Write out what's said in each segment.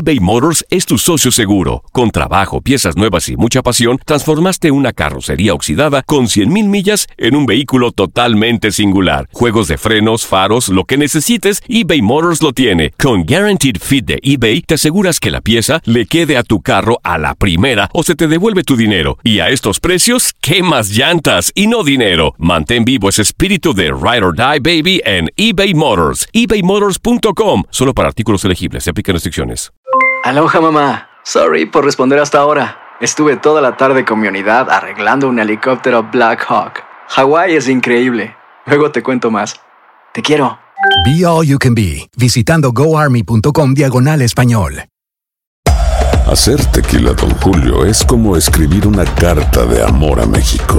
eBay Motors es tu socio seguro. Con trabajo, piezas nuevas y mucha pasión, transformaste una carrocería oxidada con 100,000 millas en un vehículo totalmente singular. Juegos de frenos, faros, lo que necesites, eBay Motors lo tiene. Con Guaranteed Fit de eBay, te aseguras que la pieza le quede a tu carro a la primera o se te devuelve tu dinero. Y a estos precios, ¿qué más llantas y no dinero? Mantén vivo ese espíritu de Ride or Die, baby, en eBay Motors. ebaymotors.com. Solo para artículos elegibles. Se aplican restricciones. Aloha, mamá. Sorry por responder hasta ahora. Estuve toda la tarde con mi unidad arreglando un helicóptero Black Hawk. Hawái es increíble. Luego te cuento más. Te quiero. Be All You Can Be, visitando goarmy.com/español. Hacer tequila Don Julio es como escribir una carta de amor a México.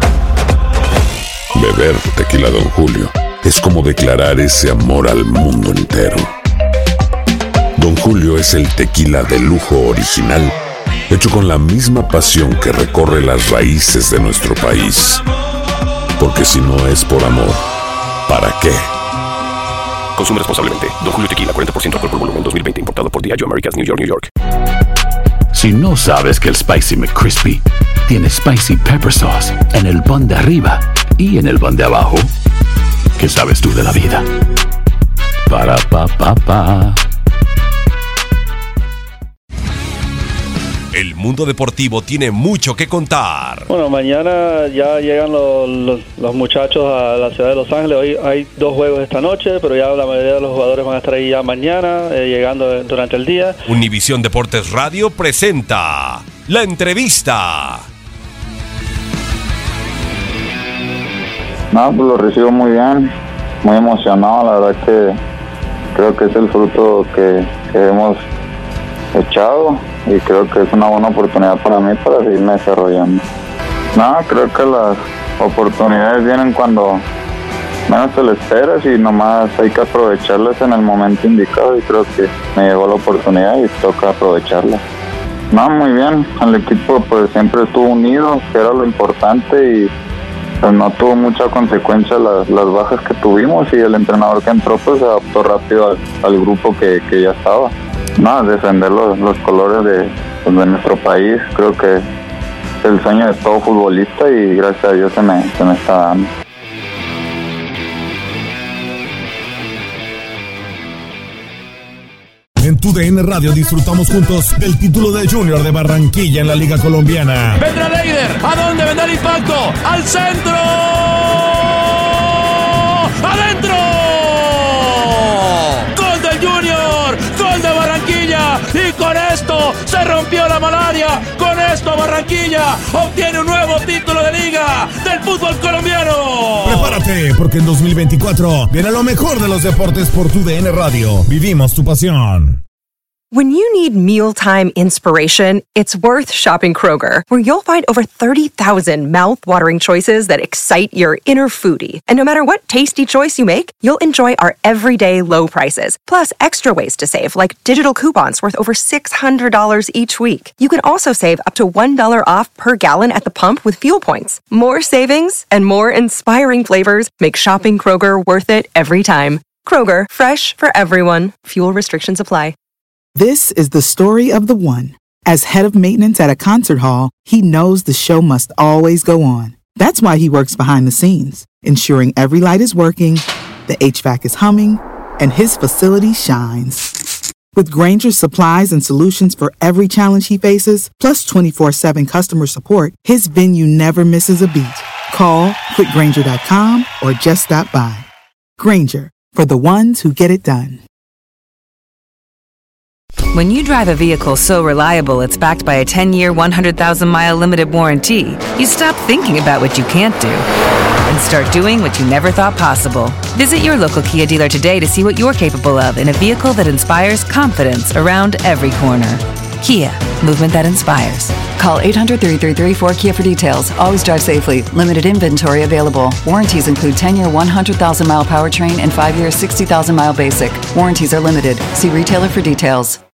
Beber tequila Don Julio es como declarar ese amor al mundo entero. Don Julio es el tequila de lujo original, hecho con la misma pasión que recorre las raíces de nuestro país. Porque si no es por amor, ¿para qué? Consume responsablemente. Don Julio Tequila, 40% alcohol por volumen, 2020. Importado por Diageo Americas, New York, New York. Si no sabes que el Spicy McCrispy tiene Spicy Pepper Sauce en el pan de arriba y en el pan de abajo, ¿qué sabes tú de la vida? Para, pa, pa, pa. El mundo deportivo tiene mucho que contar. Bueno, mañana ya llegan los muchachos a la ciudad de Los Ángeles. Hoy hay 2 juegos esta noche, pero ya la mayoría de los jugadores van a estar ahí ya mañana, llegando durante el día. Univisión Deportes Radio presenta La Entrevista. No, pues lo recibo muy bien, muy emocionado. La verdad que creo que es el fruto que hemos echado y creo que es una buena oportunidad para mí para seguirme desarrollando. No, creo que las oportunidades vienen cuando menos te lo esperas y nomás hay que aprovecharlas en el momento indicado, y creo que me llegó la oportunidad y toca aprovecharla. No, muy bien, el equipo pues siempre estuvo unido, que era lo importante, y pues no tuvo mucha consecuencia las bajas que tuvimos, y el entrenador que entró pues se adaptó rápido al grupo que ya estaba. No, defender los colores de nuestro país, creo que es el sueño de todo futbolista, y gracias a Dios se me está dando. En TUDN Radio disfrutamos juntos del título de Junior de Barranquilla en la Liga Colombiana. Vendrá Leider, ¿a dónde vendrá el impacto? ¡Al centro! ¡Adentro! ¡Gol del Junior! ¡Gol de Barranquilla! Y con esto se rompió la malaria. Con esto Barranquilla obtiene un nuevo título de liga del fútbol colombiano. Prepárate, porque en 2024 viene lo mejor de los deportes por TUDN Radio. Vivimos tu pasión. When you need mealtime inspiration, it's worth shopping Kroger, where you'll find over 30,000 mouth-watering choices that excite your inner foodie. And no matter what tasty choice you make, you'll enjoy our everyday low prices, plus extra ways to save, like digital coupons worth over $600 each week. You can also save up to $1 off per gallon at the pump with fuel points. More savings and more inspiring flavors make shopping Kroger worth it every time. Kroger, fresh for everyone. Fuel restrictions apply. This is the story of the one. As head of maintenance at a concert hall, he knows the show must always go on. That's why he works behind the scenes, ensuring every light is working, the HVAC is humming, and his facility shines. With Grainger's supplies and solutions for every challenge he faces, plus 24/7 customer support, his venue never misses a beat. Call quickgrainger.com or just stop by. Grainger, for the ones who get it done. When you drive a vehicle so reliable it's backed by a 10-year, 100,000-mile limited warranty, you stop thinking about what you can't do and start doing what you never thought possible. Visit your local Kia dealer today to see what you're capable of in a vehicle that inspires confidence around every corner. Kia, movement that inspires. Call 800-333-4KIA for details. Always drive safely. Limited inventory available. Warranties include 10-year, 100,000-mile powertrain and 5-year, 60,000-mile basic. Warranties are limited. See retailer for details.